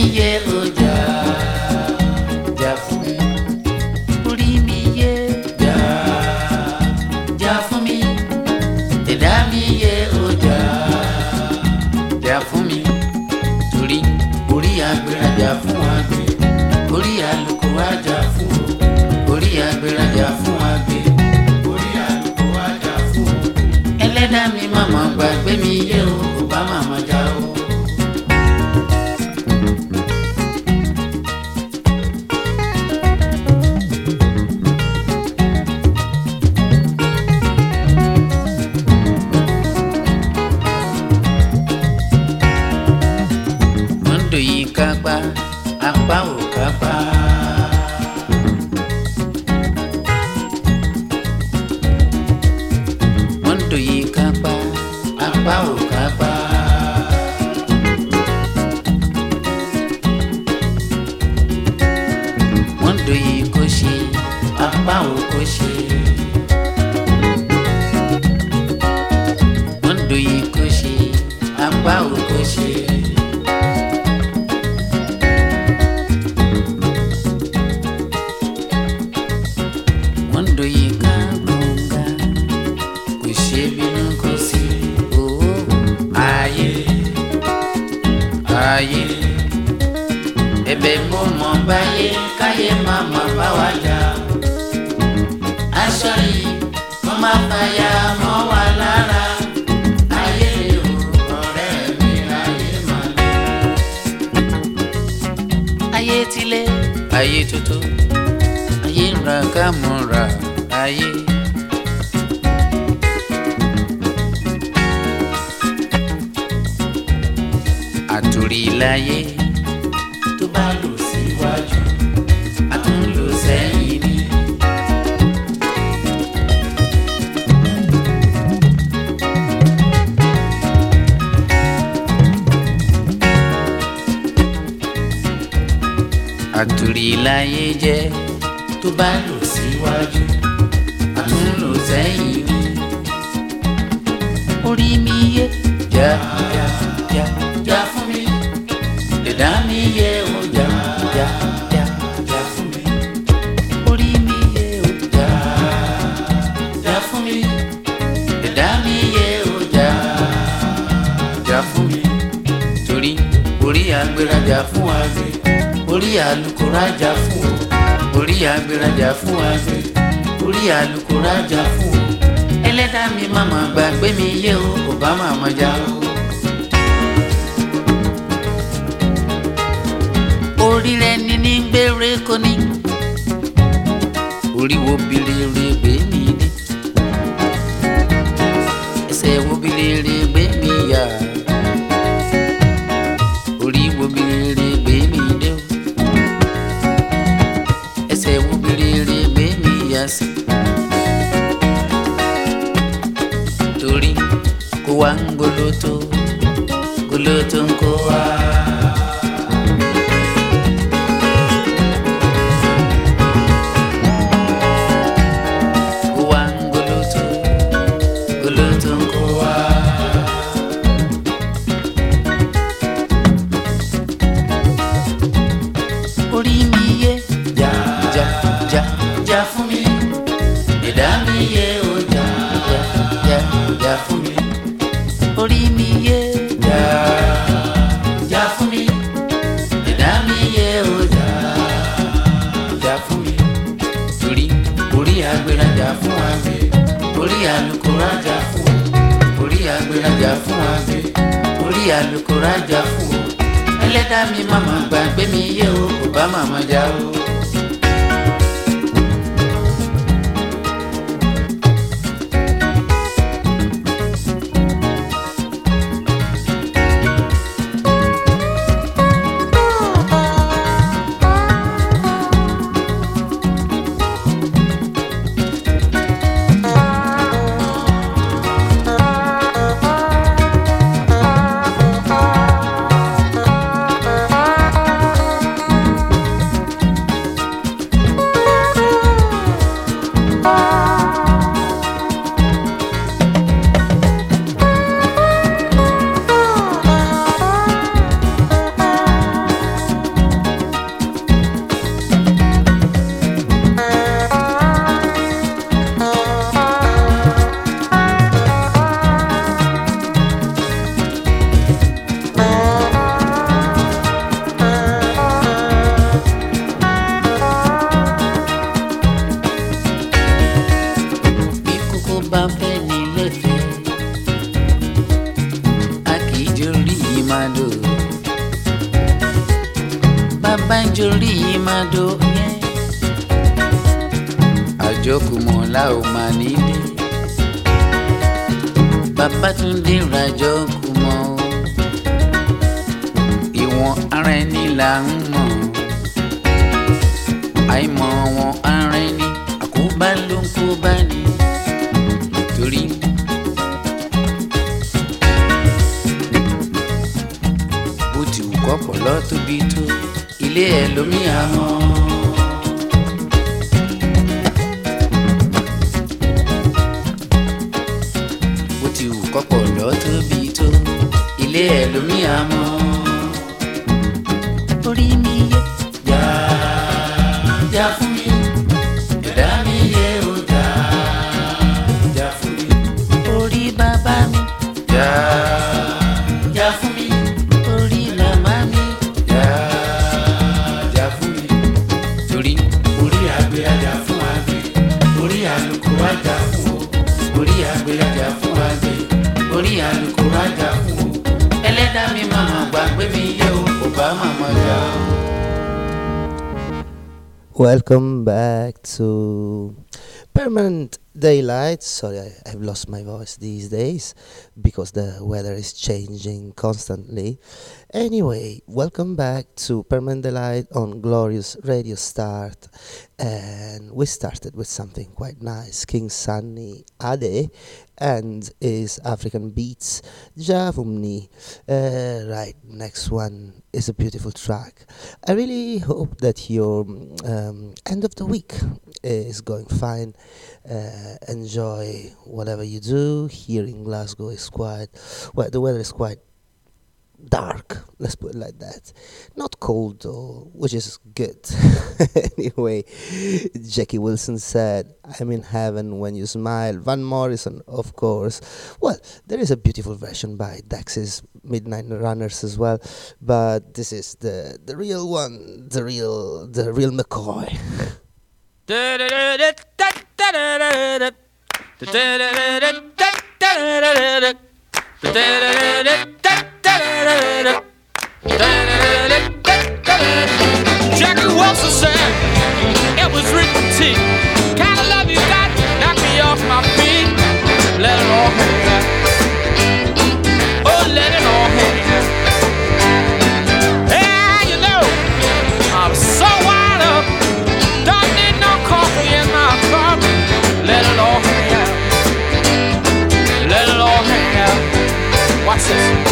yé o jà jà fún mi. Orí mi yé jà jà fún mi. Ẹ̀dá mi yé o jà jà fún mi. Torí orí agbérajà fún àgbẹ̀, orí àlùkò àjà fún o. Orí agbérajà fún àgbẹ̀, orí àlùkò àjà fún o. Ẹlẹ́dàá mi màmá gbàgbé mi yé o, kò bá màmá jà o. Mondo yìí kápá, apá ò kápá. Mondo yìí kápá, apá ò kápá. Mondo yìí kò ṣe, apá ò kò ṣe. Mondo yìí kò ṣe, apá ò kò ṣe. Mondo yìí ká gbọ̀ngà, kò ṣe bínú kò sí. Ayé ayé ẹ̀bẹ̀ mo mọ̀ báyé káyé má má bá wa jà. Aṣọ yìí mo máa fàyà mọ́ wa lára. Ayé o ọ̀rẹ́ mi ayé má lé. Ayé tilé ayé tuntun, ayé ń ra ká mọ̀ ra ayé. Àtòrí láyé tó bá lò síwájú, a tún lò sẹ́yìn ni. Àtòrí láyé jẹ́ tó bá lò síwájú, a tún lò sẹ́yìn ni. Orí mi yé jà jà jà jà fún mi. Ẹ̀dá mi yé o jà jà jà jà fún mi. Orí mi yé o jà jà fún mi. Ẹ̀dá mi yé o jà jà fún mi. Torí orí agbérajà fún àgbẹ̀, orí àlùkò rájà fún o. Orí agbérajà fún àgbẹ̀, orí àlùkò rájà fún o. Ẹlẹ́dàá mi màmá gbàgbé mi yé o, kò bá màmá jà o. Orí rẹ ní ní gbére kò ní, orí wo bilere gbé mi dé, ẹsẹ̀ wo bilere gbé mi yá, orí wo bilere gbé mi dé o, ẹsẹ̀ wo bilere gbé mi yá sí. Torí kó wá ń goloto, goloto ń kó wá. Orí mi yé jà jà jà jà fún mi. Ẹ̀dá mi yé o jà jà jà jà fún mi. Orí mi yé jà jà fún mi. Ẹ̀dá mi yé o jà jà fún mi. Torí orí agbérajà fún àgbẹ̀, orí àlùkò rájà fún o. Orí agbérajà fún àgbẹ̀, orí àlùkò rájà fún o. Ẹlẹ́dàá mi màmá gbàgbé mi yé o, kò bá màmá jà o. màdò bàbá ń jorí màdò yẹn àjọkùmọ̀ la ò máa nílé Babátúndé ràjọkùmọ̀ ìwọ̀n ara ẹni là ń mọ̀ àìmọ̀ wọn ara ẹni àkóbá ló ń kó bá ní torí bó ti wù kọ́pọ̀lọ́ tóbi tó ilé ẹ̀ lómi àmọ́. Bó ti wù kọ́pọ̀lọ́ tóbi tó ilé ẹ̀ lómi àmọ́. Orí mi yé jà jà fún mi ẹ̀dá mi yé o jà jà fún mi. Orí bàbá mi jà jà fún mi. Orí màmá mi jà jà fún mi. Torí orí àgbẹ̀ ajá fún àgbẹ̀ orí àlùkò ajá fún o. Orí àgbẹ̀ ajá fún àgbẹ̀ orí àlùkò ajá fún o. Ẹlẹ́dàá mi màmá gbàgbé mi yé o kò bá màmá jà o. Welcome back to Permanent Daylight. Sorry, I've lost my voice these days because the weather is changing constantly. Anyway, welcome back to Permanent Daylight on Glorious Radio Start. And we started with something quite nice. King Sunny Ade and his African beats, Javumni. Right, next one is a beautiful track. I really hope that your end of the week is going fine. Enjoy whatever you do. Here in Glasgow is quite, well, the weather is quite dark, let's put it like that. Not cold though, which is good. Anyway, Jackie Wilson said, I'm in heaven when you smile. Van Morrison, of course. Well, there is a beautiful version by Dexys Midnight Runners as well, but this is the real one, the real McCoy. Jackie Wilson said it was written T. Kind of love you got, knock me off my feet. Let it all hang out. Oh, let it all hang out. Yeah, you know, I'm so wired up. Don't need no coffee in my cup. Let it all hang out. Let it all hang out. Watch this.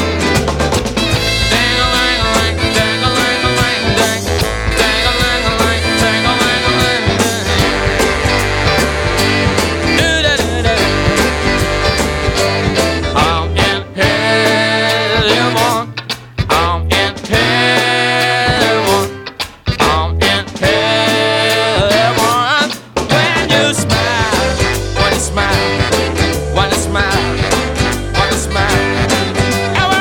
Smile, wanna smile, wanna smile.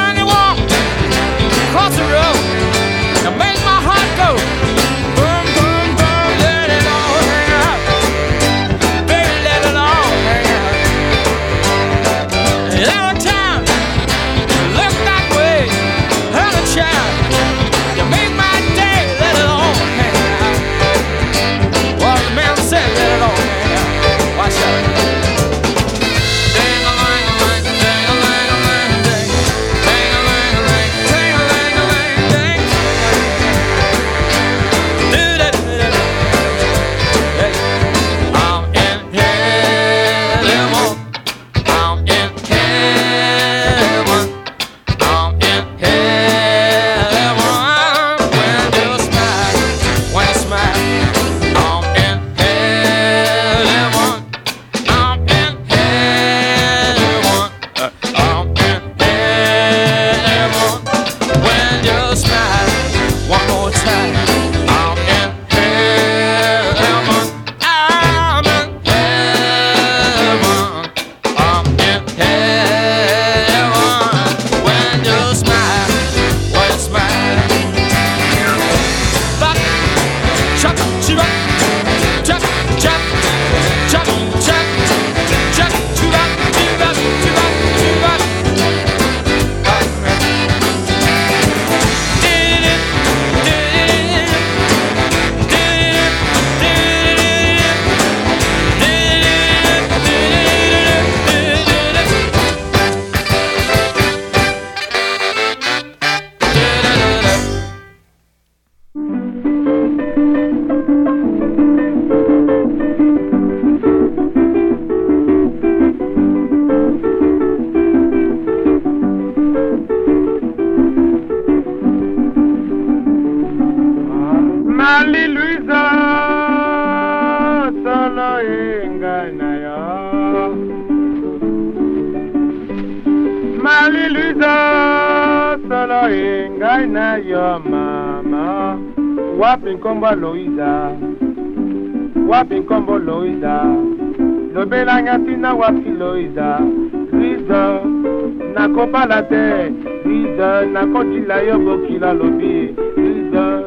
Luisa solo ngai na yo mama. Wapi nkombo Loiza, wapi nkombo Loiza, lobelanga tina wapi Loiza. Luisa nakopala te, Luisa nakotila yo bokila lobi. Luisa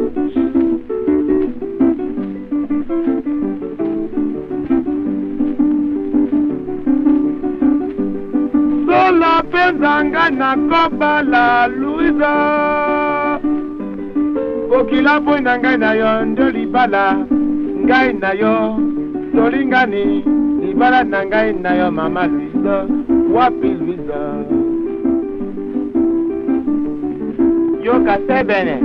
sola penzanga nakobala Luisa. Bokila boy na ngai na yo ndo libala, ngai na yo tolingani, libala na ngai na yo mama Luisa. Wapi Luisa? Yo kasebene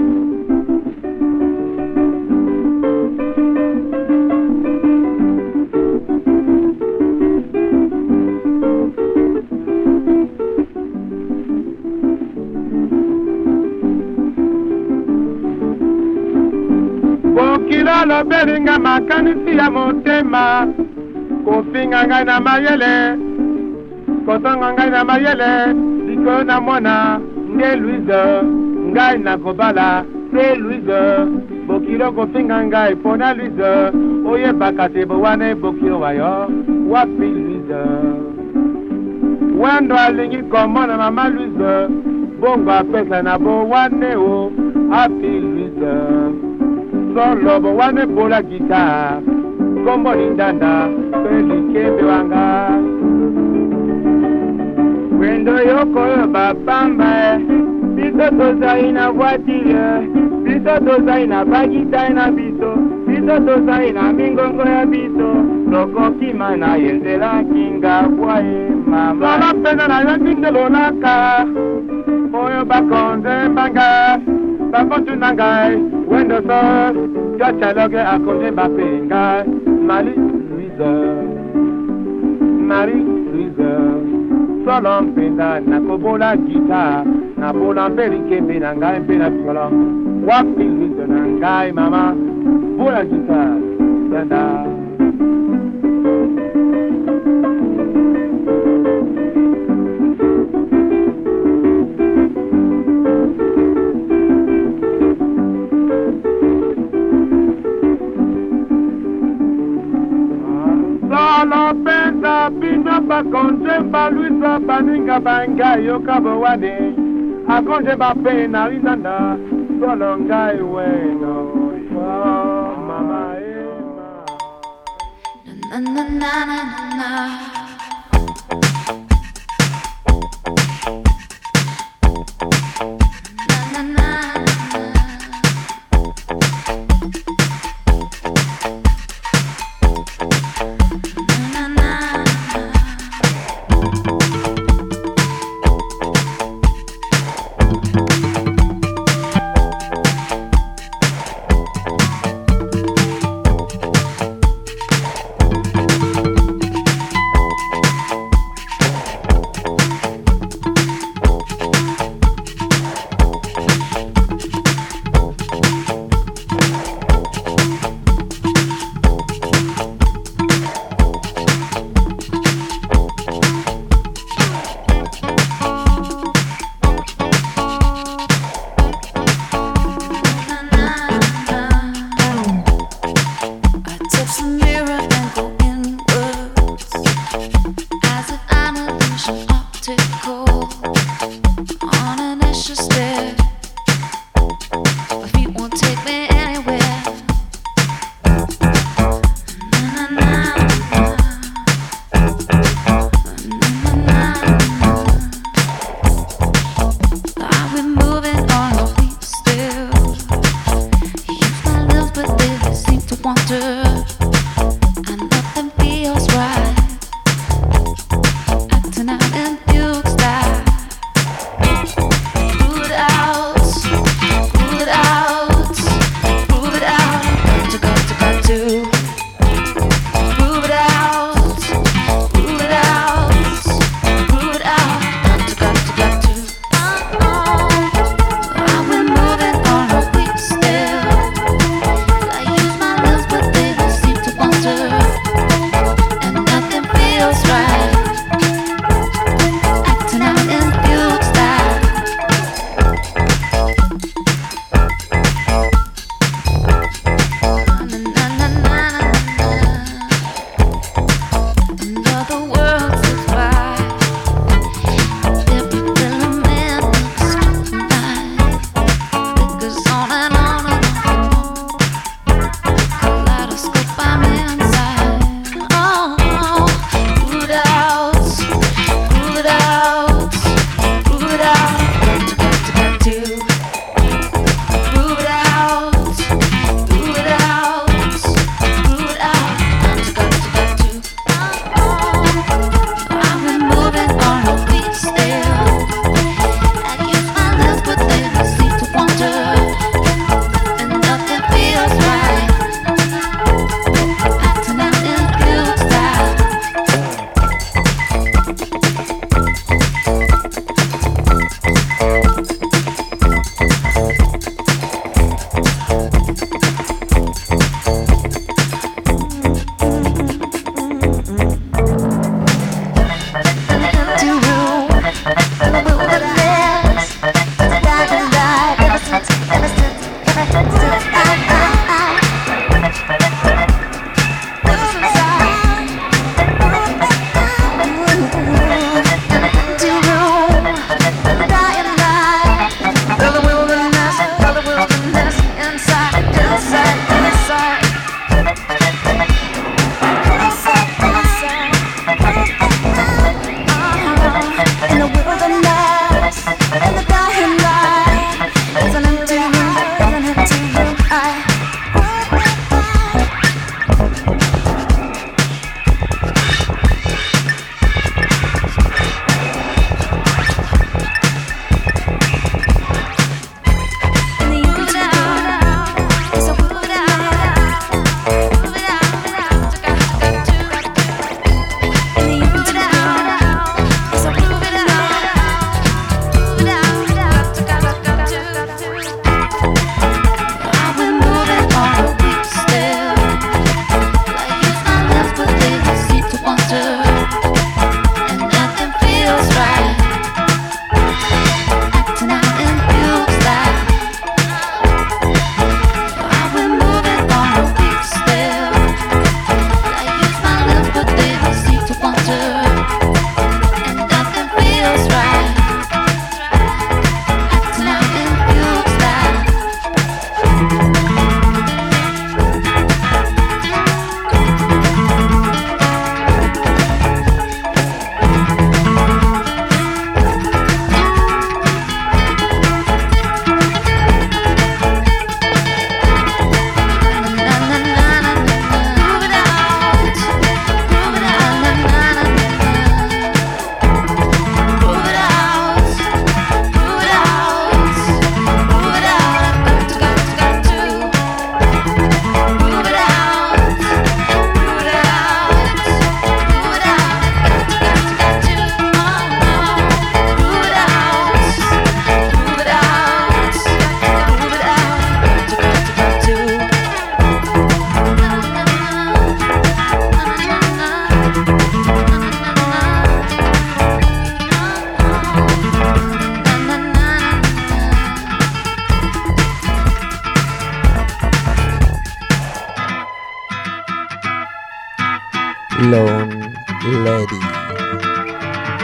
bokila lobelinga makanisi ya motema, kofinga ngai na mayele, kosanga ngai na mayele, liko na mwana nge Luisa, ngai na kobala se Luisa. Bokilo kofinga ngai pona Luisa, oyebaka te bowane bokilo wayo. Wapi Luisa? Wendo alingi komona mama Luisa, bongo apesa na bowane o. Happy Luisa solo bowane bola gita, kombo lindanda peli kembe wanga. Wendo yoko yo babamba, biso tozai na voiture, biso tozai na bagita na biso, biso tozai na mingongo ya biso, lokoki mana yenzela kinga kwae mama. Lala pena na yakinde lolaka, oyo bakonze mbanga, bakontu nangai, wendo so, jachaloge akonde bapenga, Marie Louise, Marie Louise. Solo mpenda na kobola gita, na bola mpeli kembe na ngai mpe na piolo. Wapi Luisa na ngai mama, bola gita, dada. Solo pensa pina pa konje pa Luisa baninga banga yo kabo wane, a konje ba pena linanda, solo ngai weno yo mama ema. Na na na na na.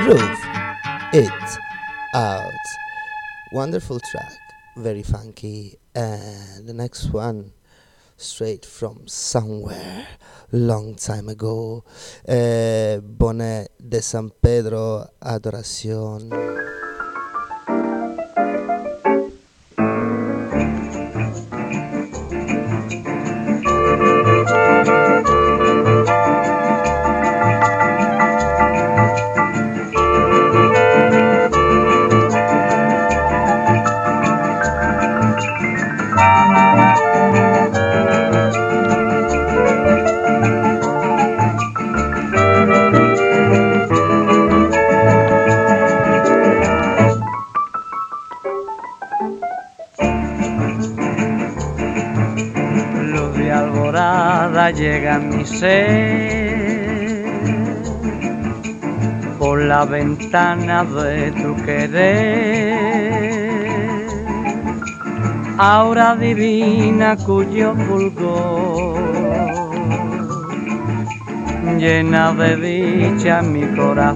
Groove It Out. Wonderful track, very funky. And the next one, straight from somewhere, long time ago. Bonnet de San Pedro, Adoración. Llega mi ser por la ventana de tu querer, aura divina cuyo fulgor llena de dicha mi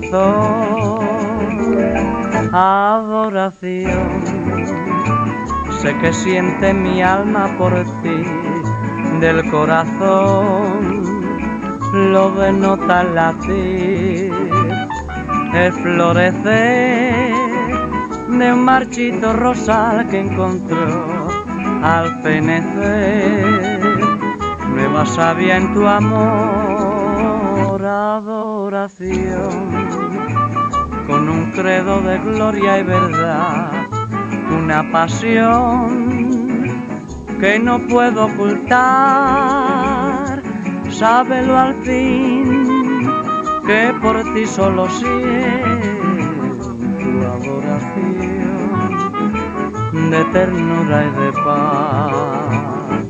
corazón. Adoración, sé que siente mi alma por ti. Del corazón lo denota el latir, el florecer de un marchito rosal que encontró al fenecer. Nueva savia en tu amor, adoración, con un credo de gloria y verdad, una pasión que no puedo ocultar. Sábelo al fin, que por ti solo siento adoración de ternura y de paz.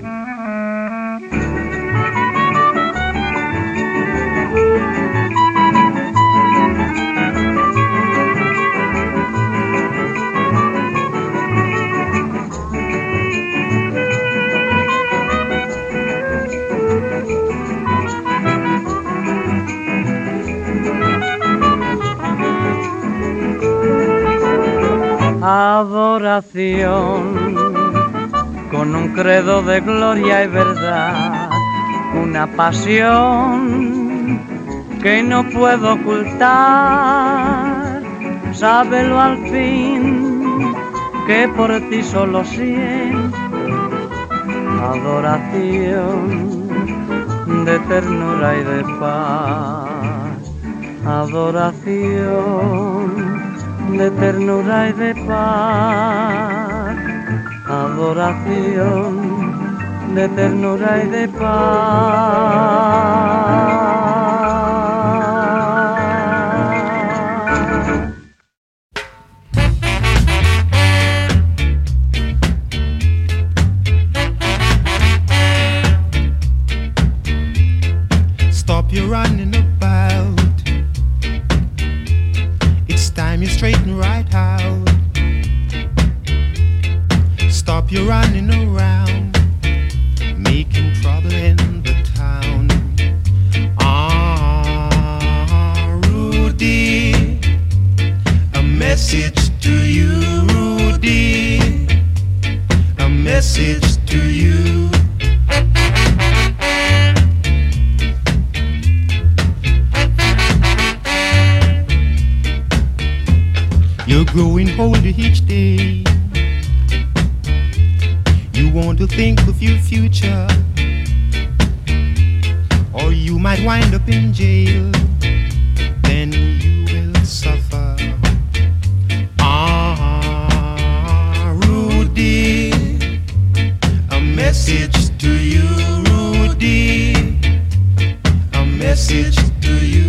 Adoración, con un credo de gloria y verdad, una pasión que no puedo ocultar. Sábelo al fin, que por ti solo siento adoración de ternura y de paz. Adoración de ternura y de paz, adoración de ternura y de paz. Stop your running about. Time you straighten right out. Stop your running around, making trouble in the town. Rudy, a message to you, Rudy, a message to you. You're growing older each day. You want to think of your future, or you might wind up in jail. Then you will suffer. Rudy, a message to you, Rudy, a message to you.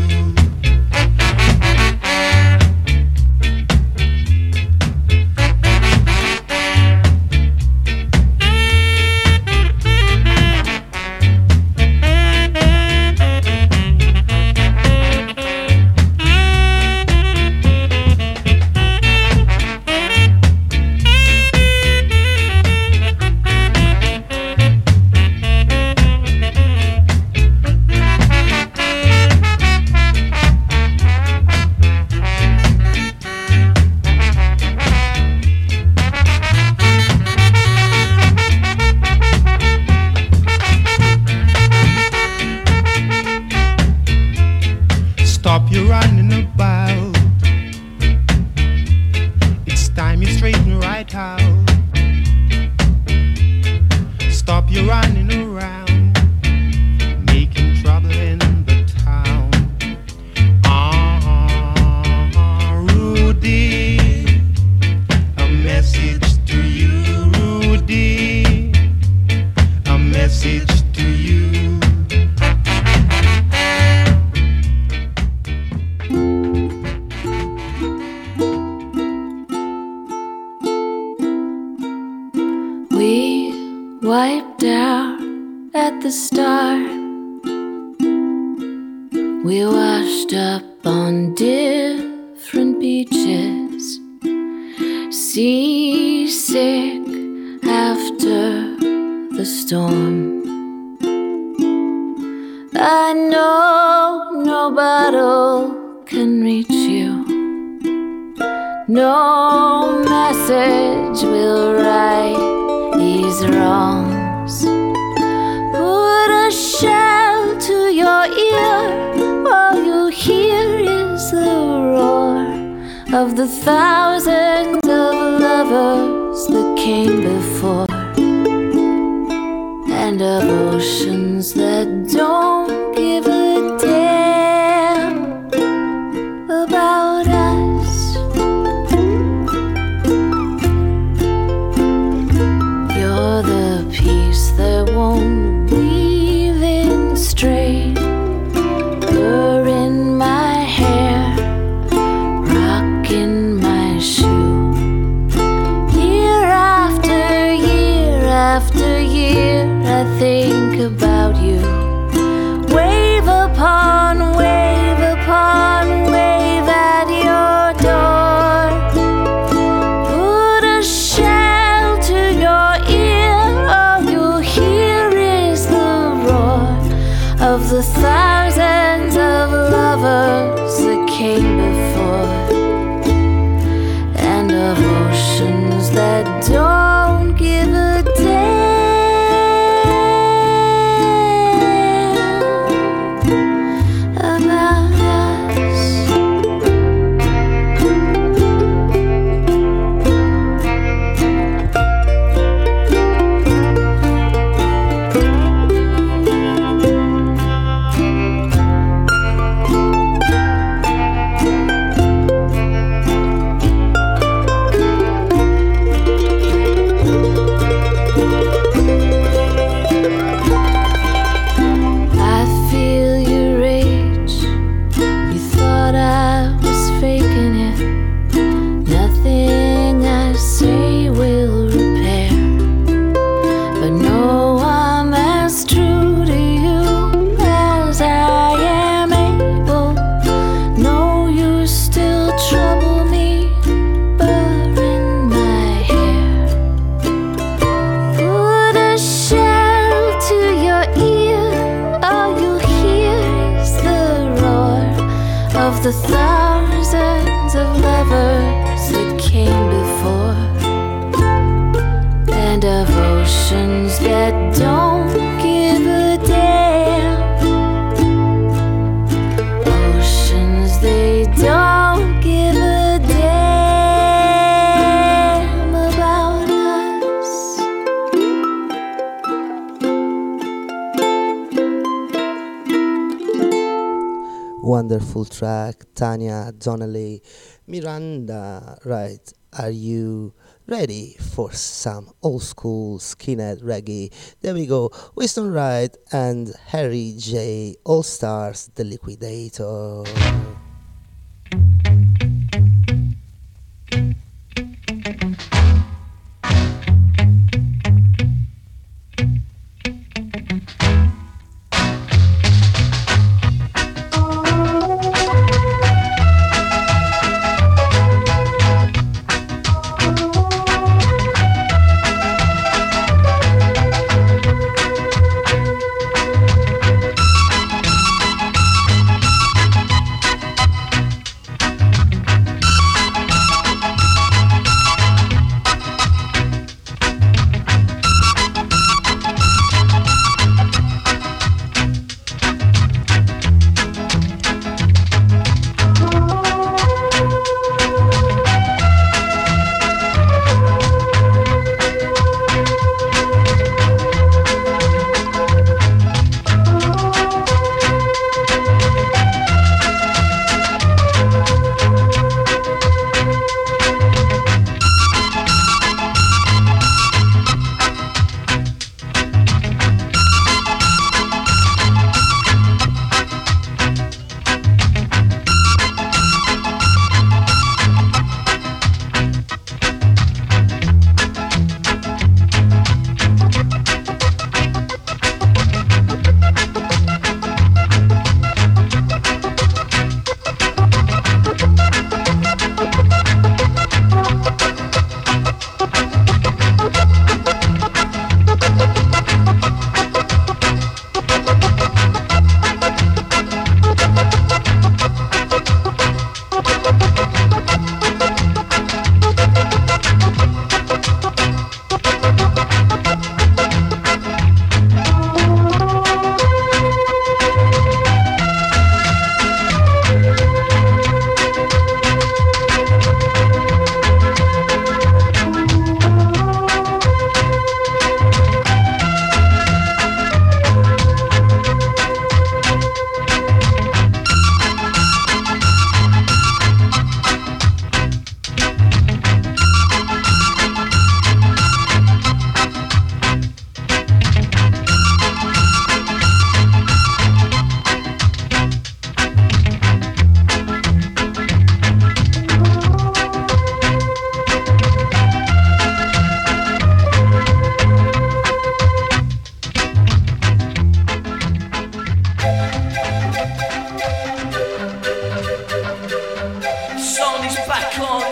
wiped out at the start. We washed up on different beaches, seasick after the storm. I know no bottle can reach you, no message will right these wrongs. Put a shell to your ear, all you hear is the roar of the thousands of lovers that came before, and of oceans that don't give a damn about us. You're the piece that won't weave in straight. You're in my hair, rocking my shoe. Year after year after year, I think about you. Wave upon wave upon wave at your door. Put a shell to your ear, all you hear is the roar of the thousands of lovers that came before, and of oceans that don't give a damn about us. I feel your rage. You thought I was faking it. Nothing I say will repair, but no, I'm as true to you as I am able. No, you still trouble me, burr in my hair. Put a shell to your ear, all you hear is the roar of the thousands of lovers that came before, and of oceans that don't give a damn. Oceans, they don't give a damn about us. Wonderful track, Tanya Donnelly, Miranda. Right, are you ready for some old school skinhead reggae? There we go, Winston Wright and Harry J. All Stars, The Liquidator.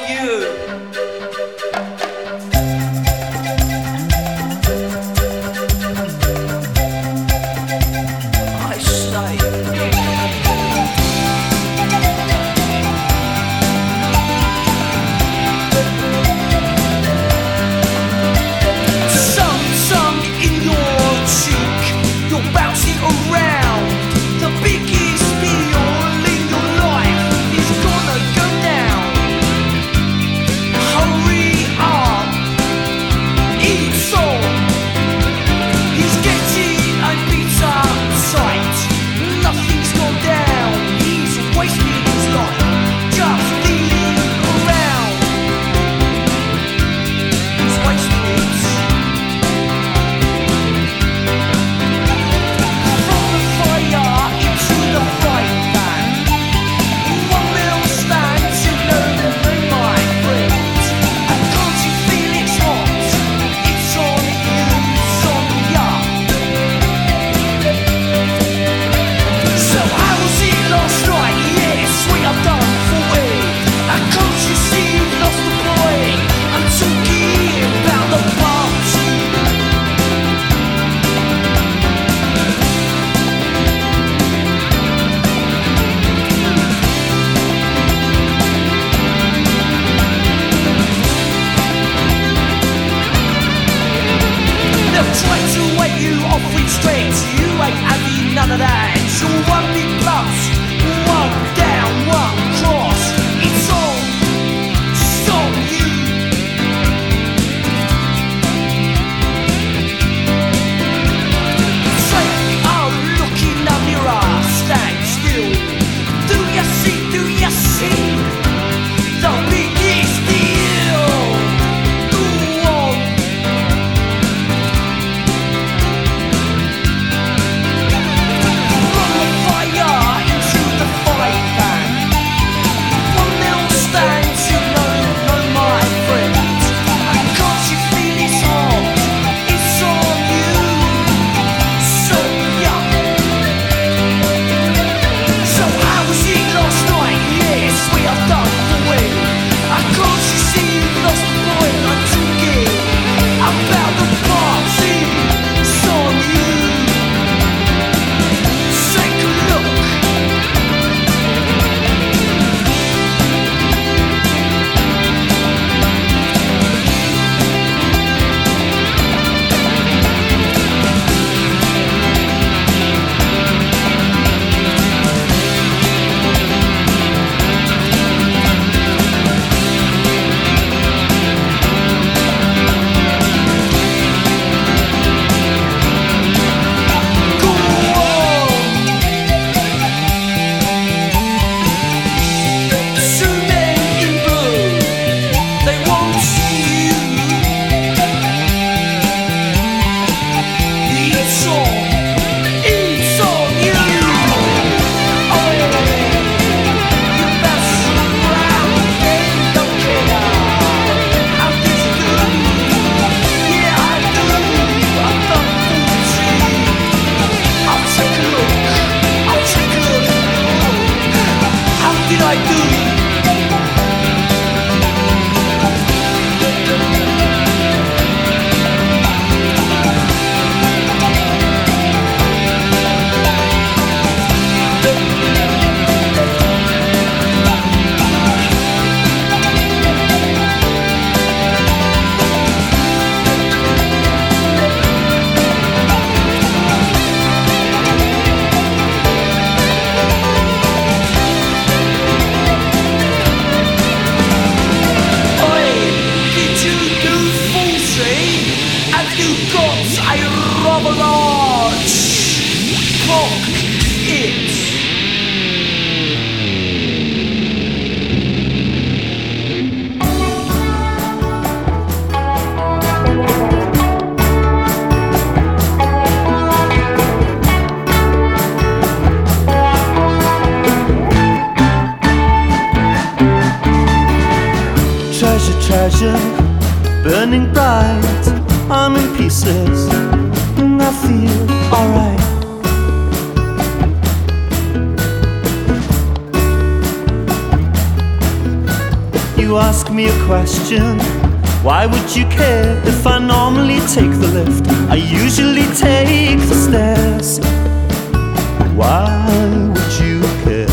treasure, burning bright. I'm in pieces and I feel alright. You you ask me a question. Why would you care if I normally take the lift? I usually take the stairs. Why would you care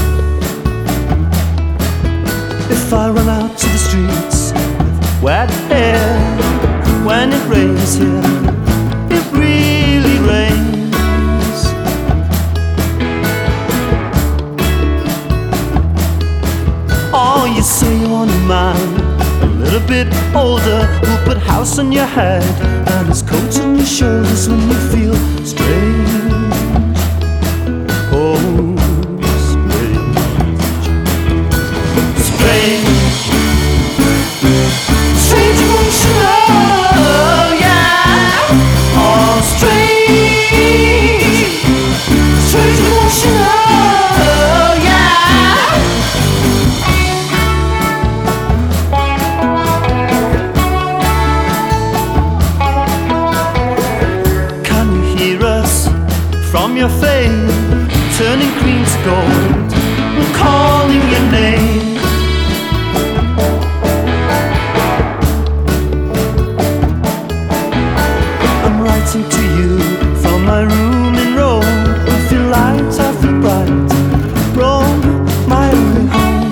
if I run out to the streets with wet hair? When it rains here, it really rains. Oh, you say you want a man a little bit older, who'll put house on your head and his coat on your shoulders when you feel strange. Oh, strange. Strange. Strange emotional, yeah. Oh, strange. Strange emotional, yeah. Can you hear us from your fame, turning green to gold and calling your name? I'm writing to you from my room in Rome. I feel light, I feel bright. Rome, my only home.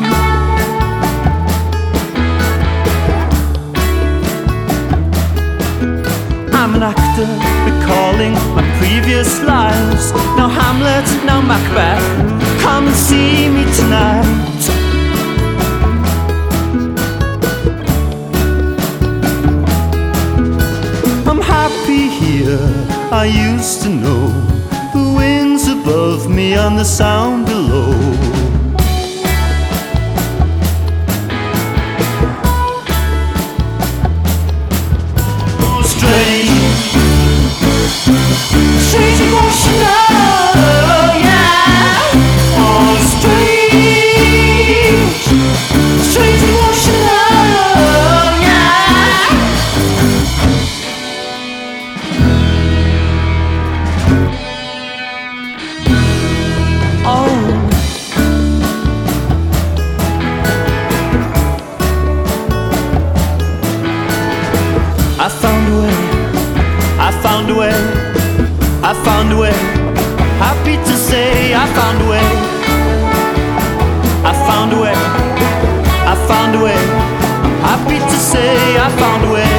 I'm an actor recalling my previous lives. Now Hamlet, now Macbeth. Come and see me tonight. I'm happy here. I used to know the winds above me and the sound below. Oh, strange. Strange emotional, yeah. Oh, strange. Strange emotional, yeah. Oh. I found a way. I found a way. I found a way. Happy to say I found a way. I found a way. I found a way. Happy to say I found a way.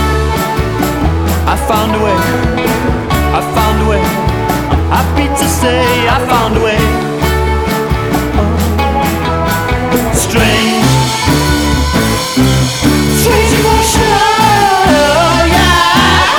I found a way. I found a way. Happy to say I found a way. Strange. Strange emotional, yeah.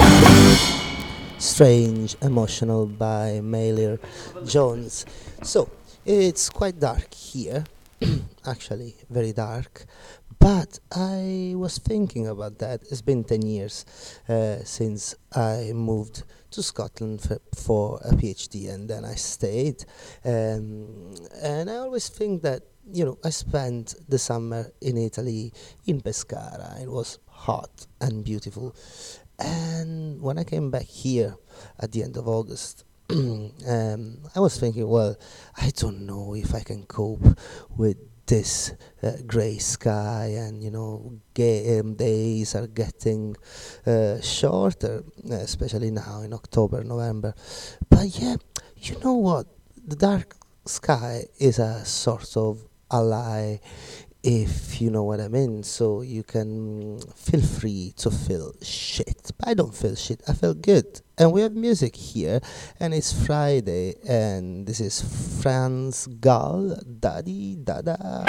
Strange Emotional by Maylor Jones. So, it's quite dark here, actually, very dark. But I was thinking about that. It's been 10 years since I moved to Scotland for a PhD, and then I stayed. And I always think that, you know, I spent the summer in Italy, in Pescara. It was hot and beautiful. And when I came back here at the end of August, I was thinking, well, I don't know if I can cope with this grey sky, and you know, days are getting shorter, especially now in October, November. But yeah, you know what? The dark sky is a sort of ally, if you know what I mean. So you can feel free to feel shit. But I don't feel shit, I feel good. And we have music here, and it's Friday, and this is Franz Gall, Daddy Dada.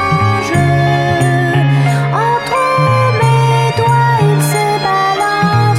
Entre mes doigts, il se balance.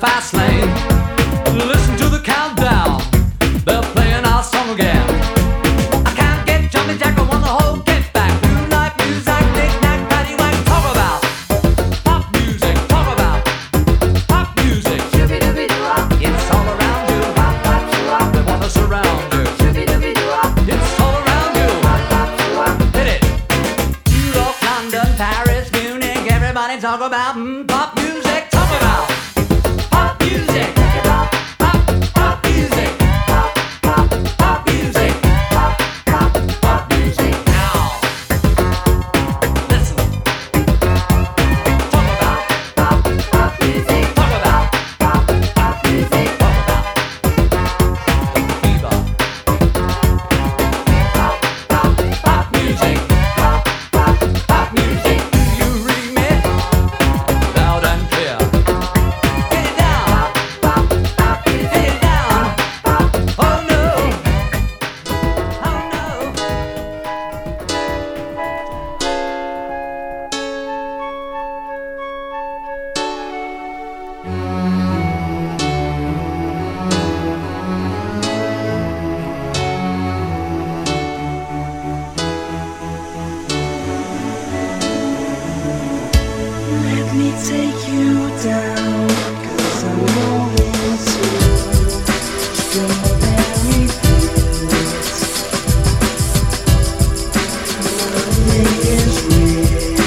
fast lane. Listen to the countdown, they're playing our song again. I can't get jumping jack, I want the whole get back. New life music, knick-knack, paddywhack. Talk about pop music, talk about pop music. It's all around you, they wanna surround you. It's all around you, hit it. New York, London, Paris, Munich, everybody talk about pop music, talk about pop music. Pop music. Pop music. Pop music. Now, listen. Talk about pop music. Talk about pop music. Talk about fever. Pop music. Pop music. Do you read me? Loud and clear. Get it down. Get it down. Oh no. Oh no. Let me take you down, 'cause I'm going to strawberry fields. Nothing is real,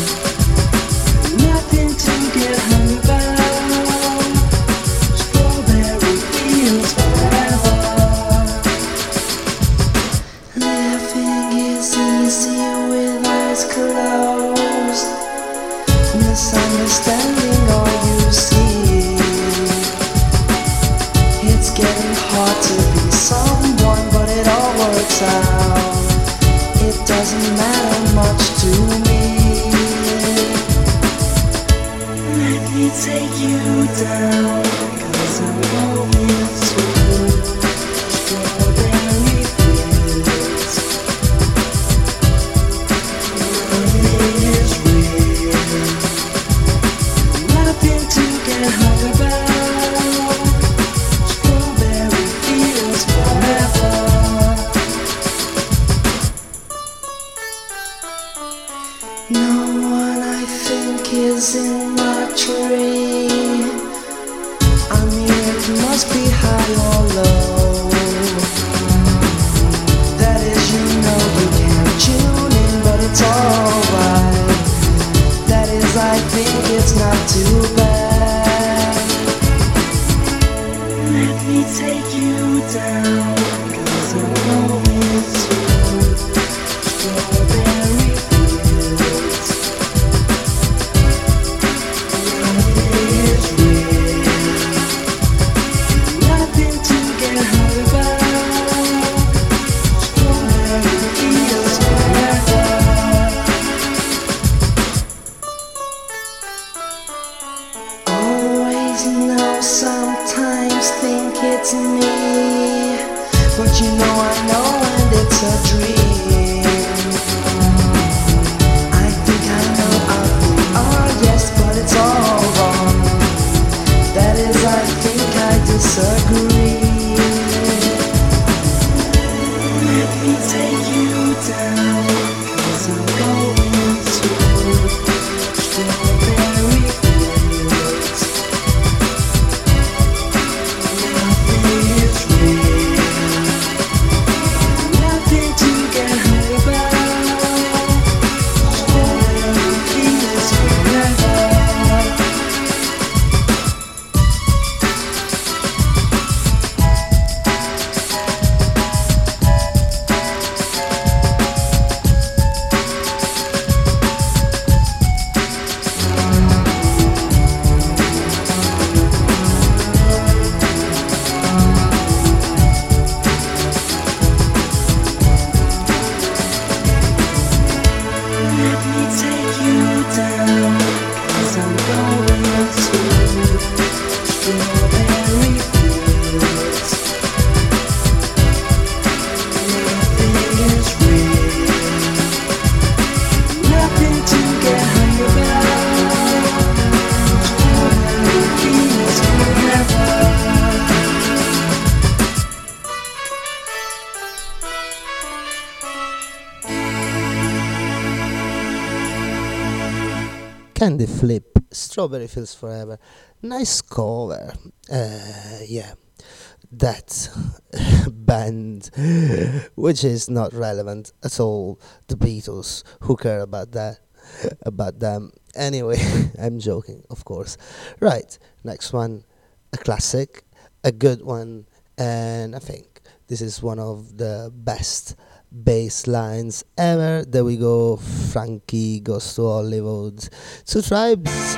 nothing to get hung about. Strawberry fields forever. Living is easy with eyes closed. Misunderstanding all you see. It's getting hard to be someone, but it all works out. It doesn't matter much to me. Let me take you down, 'cause I'm going to strawberry fields. Nothing is real, nothing to get hung about. Strawberry fields forever. No one I think is in my tree. I mean, it must be high or low. That is, you know you can't tune in, but it's alright. That is, I think it's not too bad. Let me take you down, 'cause I'm going to strawberry fields. Nothing is real, nothing to get Candy Flip, Strawberry Fields Forever. Nice cover. Yeah, that band, which is not relevant at all. The Beatles, who care about that? About them. Anyway, I'm joking, of course. Right, next one, a classic, a good one, and I think this is one of the best bass lines ever. There we go, Frankie Goes to Hollywood. Two Tribes.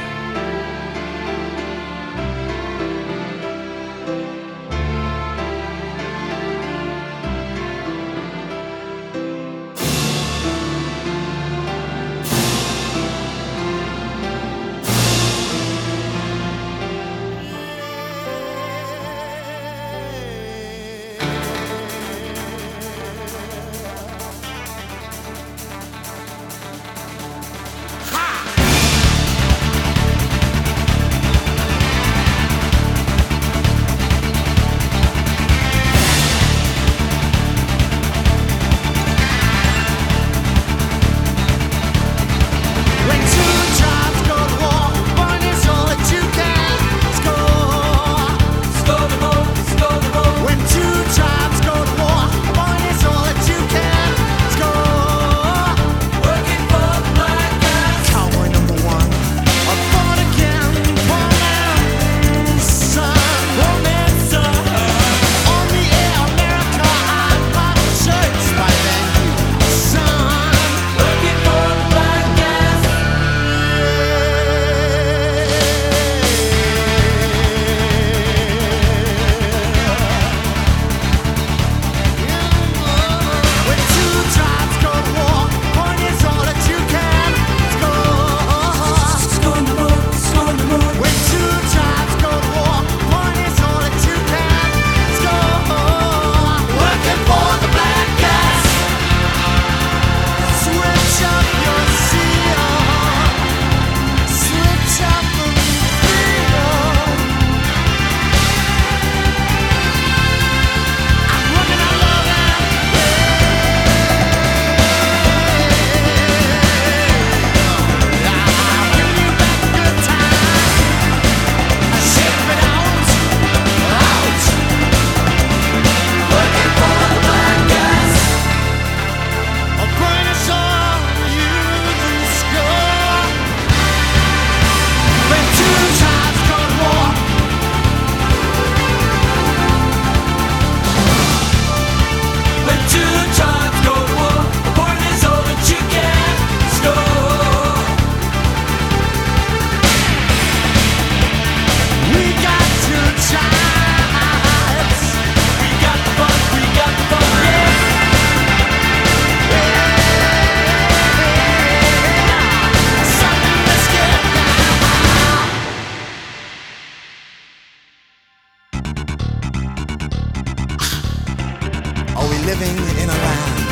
living in a land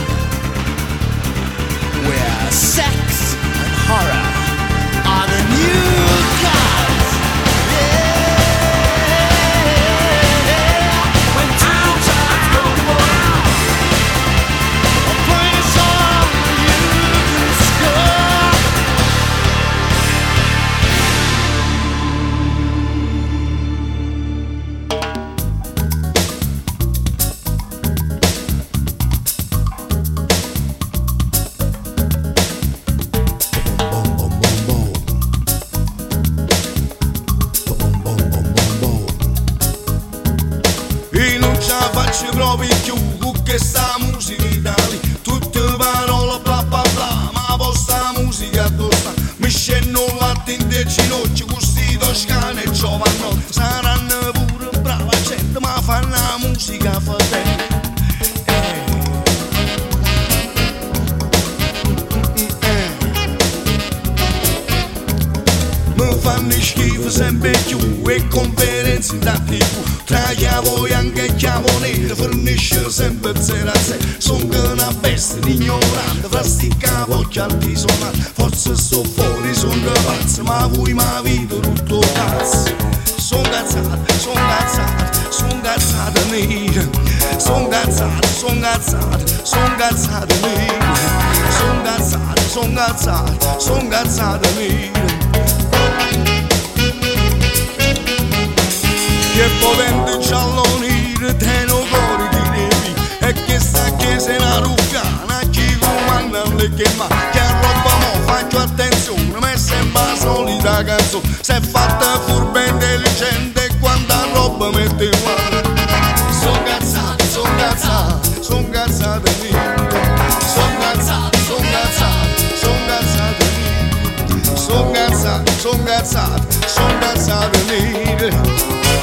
where sex and horror are the new gods. Yeah. When two times go to war, a place on you can score. Faccio proprio più con questa musica italiana, tutte parole bla bla bla, ma vostra musica addossa mi scendono latte in te ginocchio, questi toscani e giovani saranno pure brava gente, ma fanno la musica fatale. Mi fanno schifo sempre più e conferenze da tipo tra chiavo bianco e chiavo nero fornisce sempre 0 a 0. Sono una bestia ignorante fra sti capocchi altisonanti, forse sto fuori, sono pazzo, ma voi mi vito tutto cazzo. Sono cazzate, sono cazzate, sono cazzate nere, sono cazzate, sono cazzate, sono cazzate nere, sono cazzate. son cazzate mie. Che potente giallo nero, te non cuore di devi, e che sta che se la ruccana, chi comanda le chiama, che roba mo faccio attenzione, ma sembra la solita canzone, se è fatta furba intelligente, quanta roba mette in mano. Son cazzate mie, son cazzate, son cazzate mie, son cazzate mie.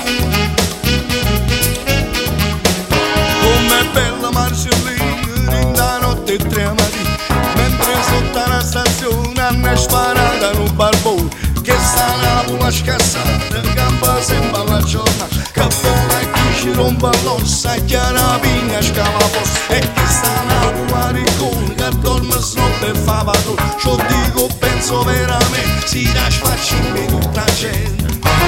Com'è bella Marcellina in da notte e tremati, mentre sotto la stazione hanno sparato in un barbone, che sta una scassata, gamba sembra la giornata, che vola e chi ci rompe l'ossa, chiara vigna scava fossa, e che sta una ricone, che dorme snotte e fa padrone, ciò dico penso veramente, si lascia facciare tutta la gente.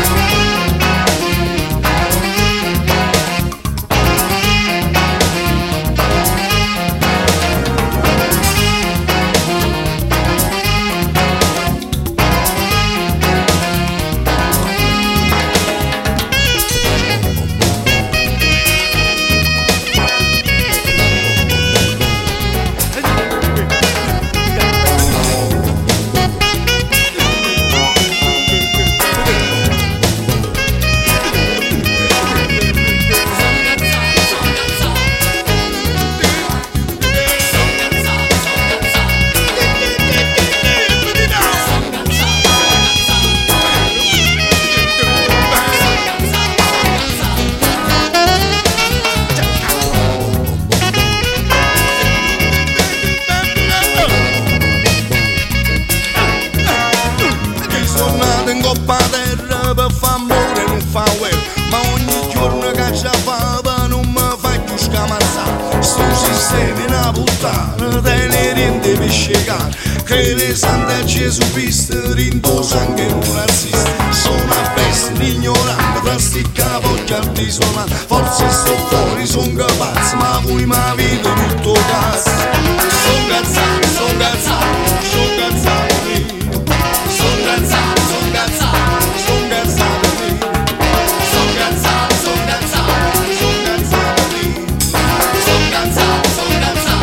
Che le sante Gesù Cristo rindosa anche un razzista. Sono a bestia, ignorante, plastica voglia altisonante. Forse sto fuori, son capace, ma voi mi vedo tutto cazzo. Son cazzati, son cazzati, son cazzati mie. Son cazzati, son cazzati, son cazzati mie. Son cazzati, son cazzati, son cazzati mie. Son cazzati, son cazzati.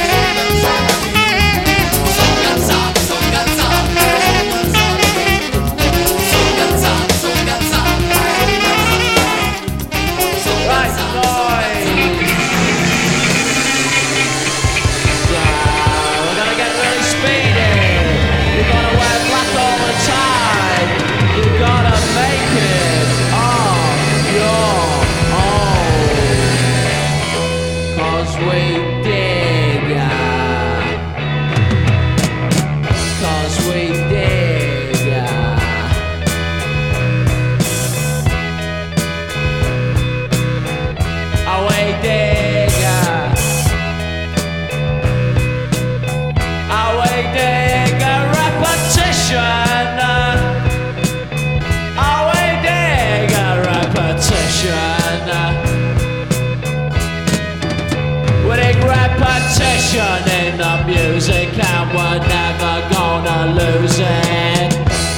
In the music and we're never gonna lose it.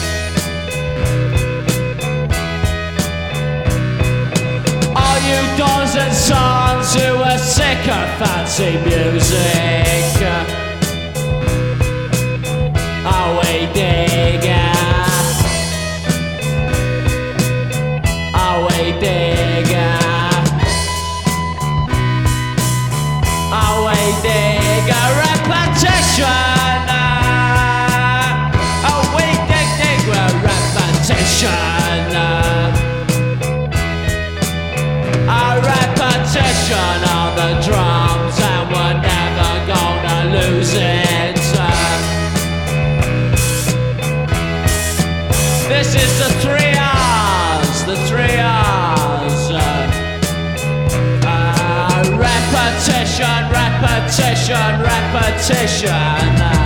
All you daughters and sons who are sick of fancy music, are we digger? Are we digger? Are we digger? Repetition. Oh, we dig repetition. A repetition on the drums, and we're never gonna lose it. This is the 3 R's, the 3 R's. Repetition, repetition, repetition.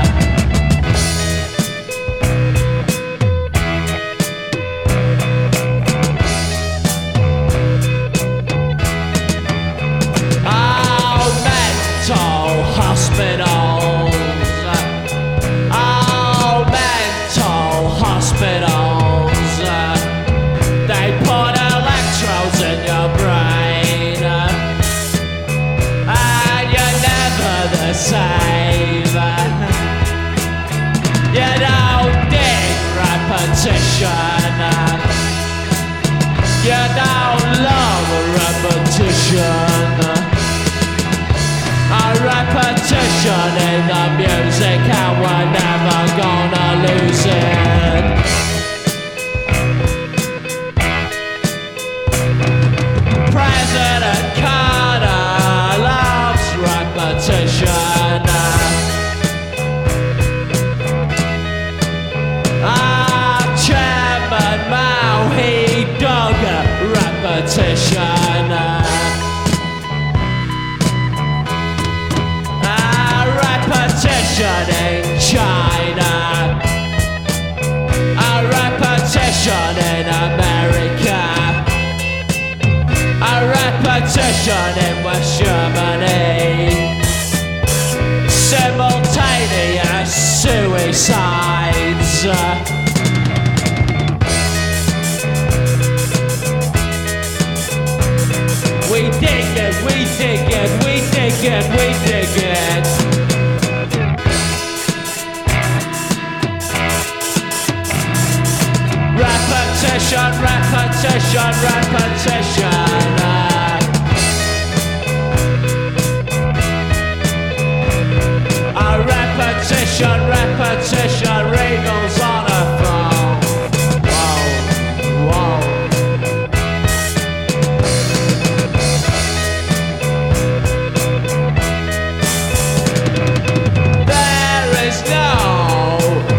Oh, mental hospitals You don't dig repetition. You don't love repetition. A repetition in the music, and we're never gonna lose it. President Carter loves repetition. Chairman Mao, he dug repetition. Repetition in China. A repetition in America. A repetition in West Germany. Simultaneous suicides. We dig it, we dig it, we dig it, we dig it. Repetition, repetition, repetition. A repetition, repetition, Regal's on a phone. Whoa, whoa. There is no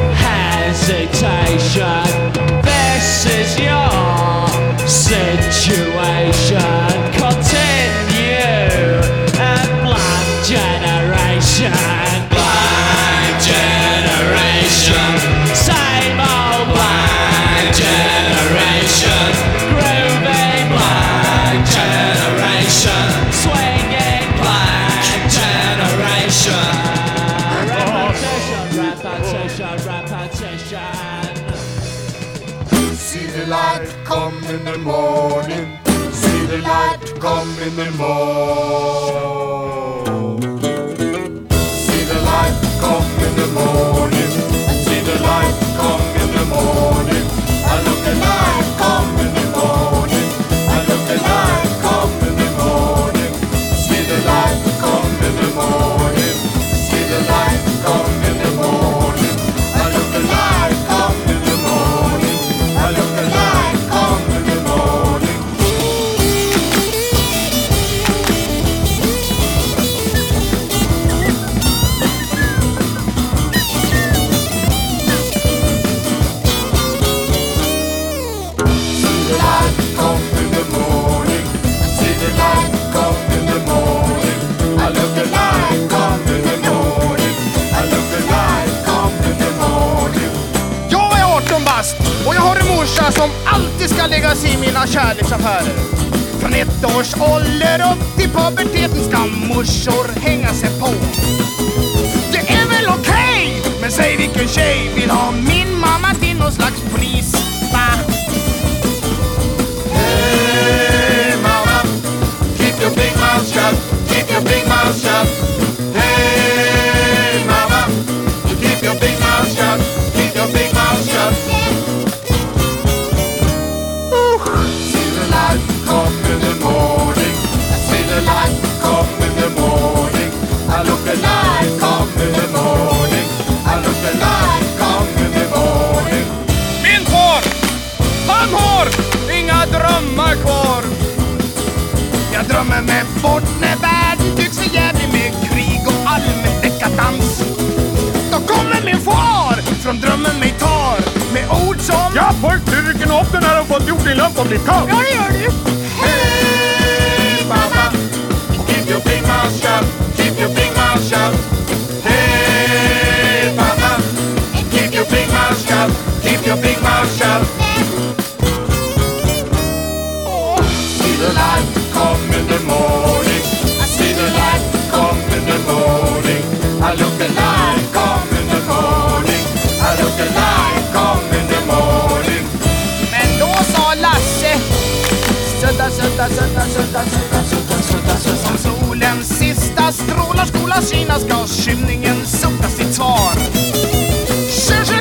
hesitation. This is your situation. Continue a blind generation. Blind generation. Same old blind generation. Grooving blind generation. Swinging blind generation. Repetition, repetition, repetition. See the light come in the morning. See the light come in the morning. See the light come in the morning. See the light come in the morning. I look the light come in the morning. I look the light come in the morning. See the light come in the morning. See the light come in the morning. I look the light come in the morning. I look the light come in the morning. See the light come in the morning. See the light come in the morning. I look the light come in the morning. I look the light come in the morning. Jag är 18 bast och jag har en morsa som alltid ska lägga sig i mina kärleksaffärer. Från 1 års ålder upp till puberteten ska morsor hänga sig på. Det är väl okej, men säg vilken tjej vill ha min mamma till någon slags pris, va? Hey mama, keep your big mouth shut. Keep your big mouth shut. Hey mama, you keep your big mouth shut. Keep your big mouth shut. See the light come in the morning. See the light come in the morning. I look the light come in the morning. I look the light come in the morning. Min far, han har inga drömmar kvar. Jag drömmer mig bort när världen tycks för jävlig med krig och allmän dekadans. Då kommer min far från drömmen mig tar med ord som: Ja, folk, du rycker upp den här och fått gjort din lampa och bli kall. Ja, det gör du. Hey mama, keep your big mouth shut. Keep your big mouth shut. Hey mama, keep your big mouth shut. Keep your big mouth shut. See the light come in the morning. I see the light come in the morning. I look the light come in the morning. I look the light come in the morning. Men då sa Lasse: sudda, sudda, sudda, sudda, sudda, sudda, sudda, sudda. Som solens sista strålar skola synas ska skymningen sudda sitt svar.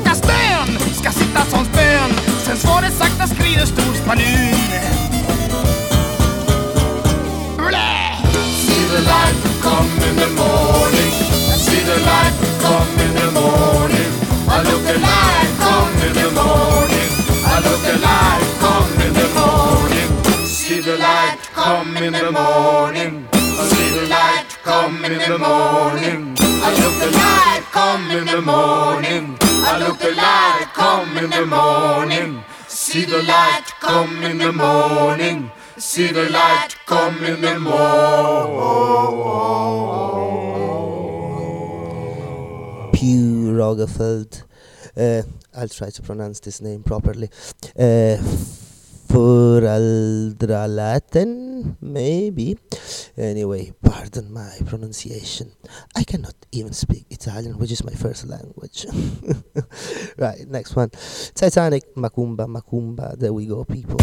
come in the morning. I see the light come in the morning. I look the light come in the morning. I look the light come in the morning. See the light come in the morning. See the light come in the morning. Pew Rogefeldt. I'll try to pronounce this name properly. Foreldralaten, maybe. Anyway, pardon my pronunciation. I cannot even speak Italian, which is my first language. Right, next one. Titanic, Macumba, Macumba. There we go, people.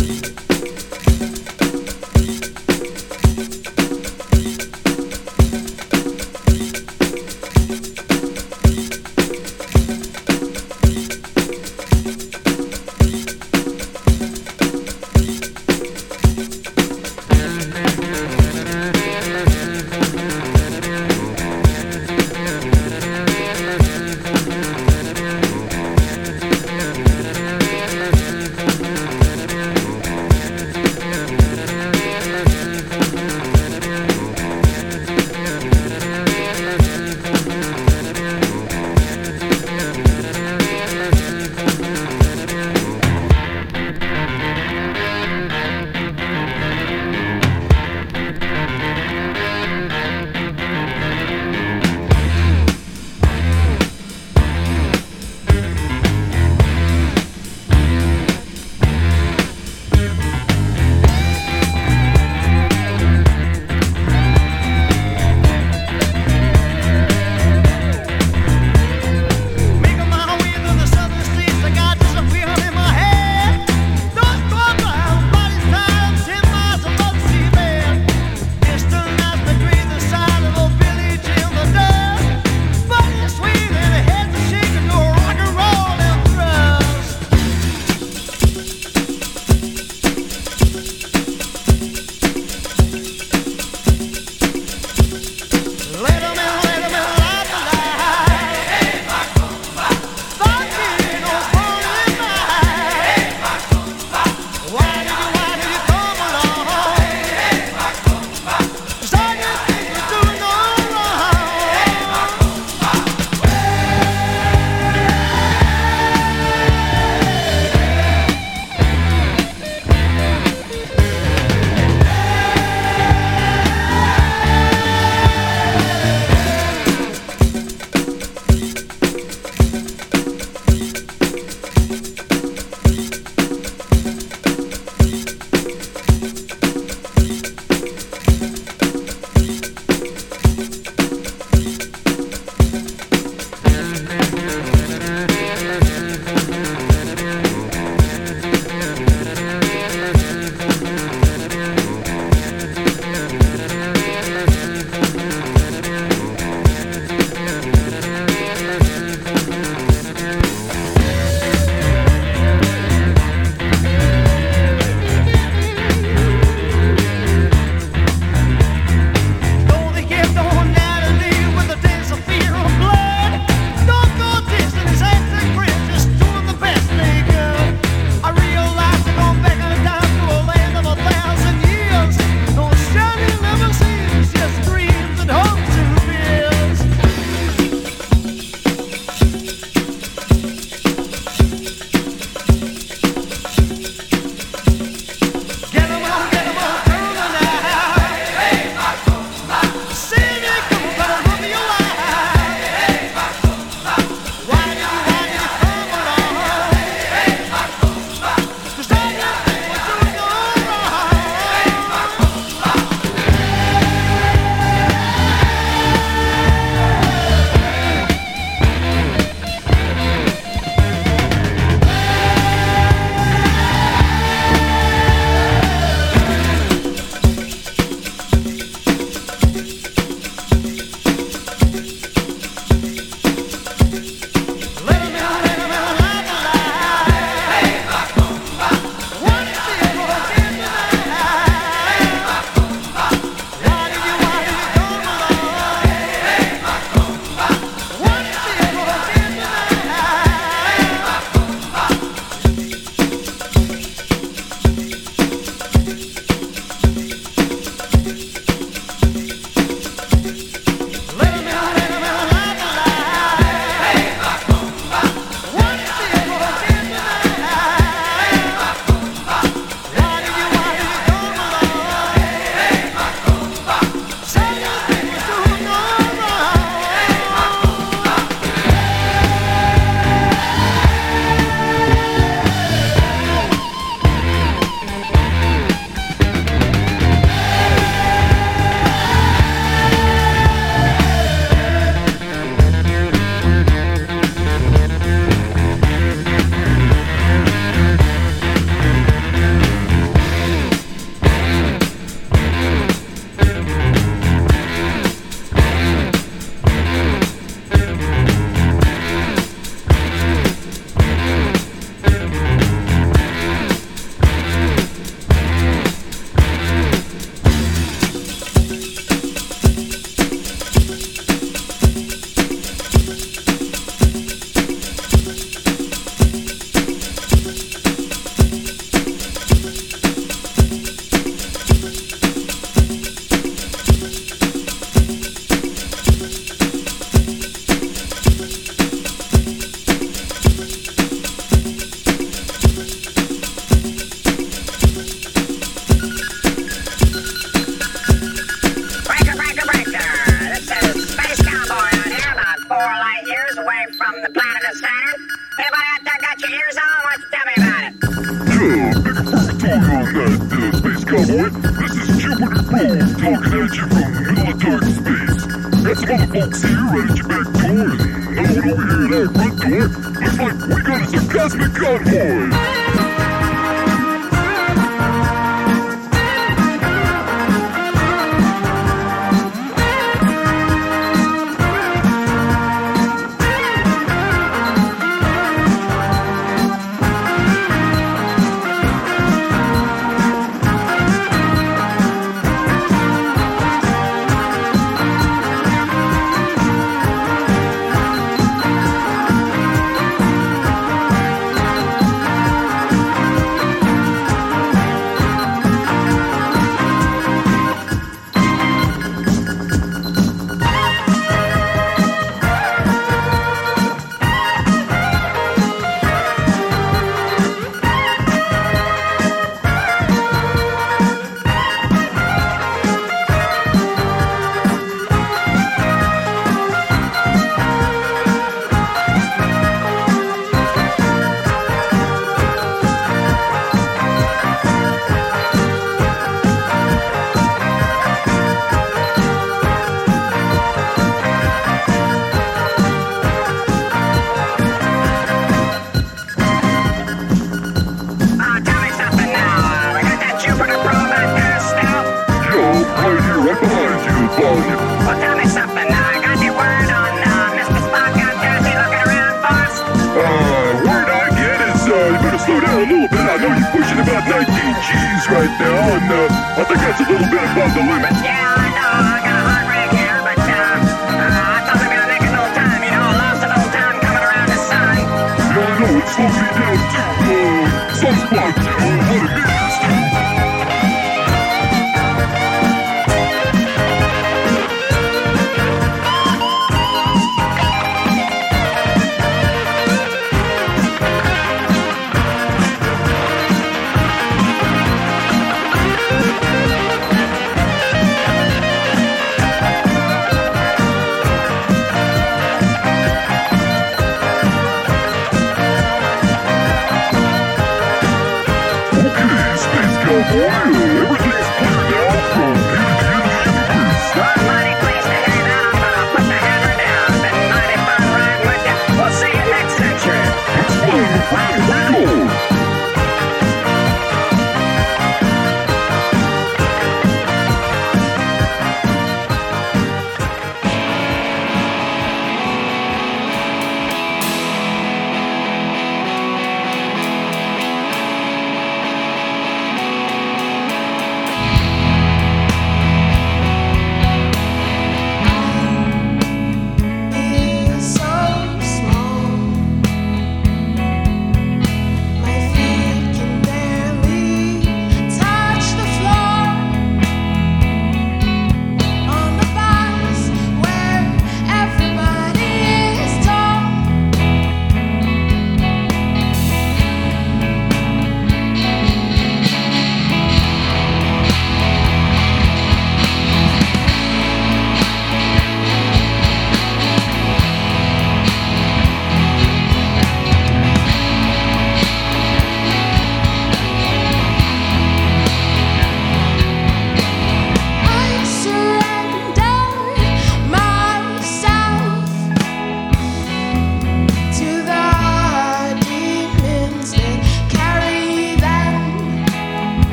short. Looks like we got us a cosmic cowboy.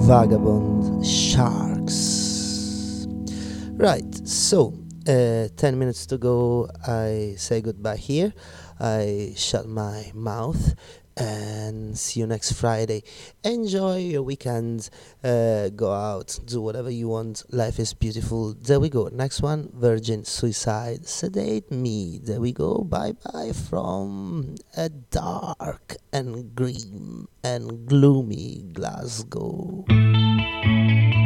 Vagabond Sharks. Right, so 10 minutes to go. I say goodbye here. I shut my mouth and see you next Friday. Enjoy your weekend. Go out, do whatever you want. Life is beautiful. There we go. Next one, Virgin Suicide. Sedate Me. There we go. Bye bye from a dark and grim and gloomy Glasgow.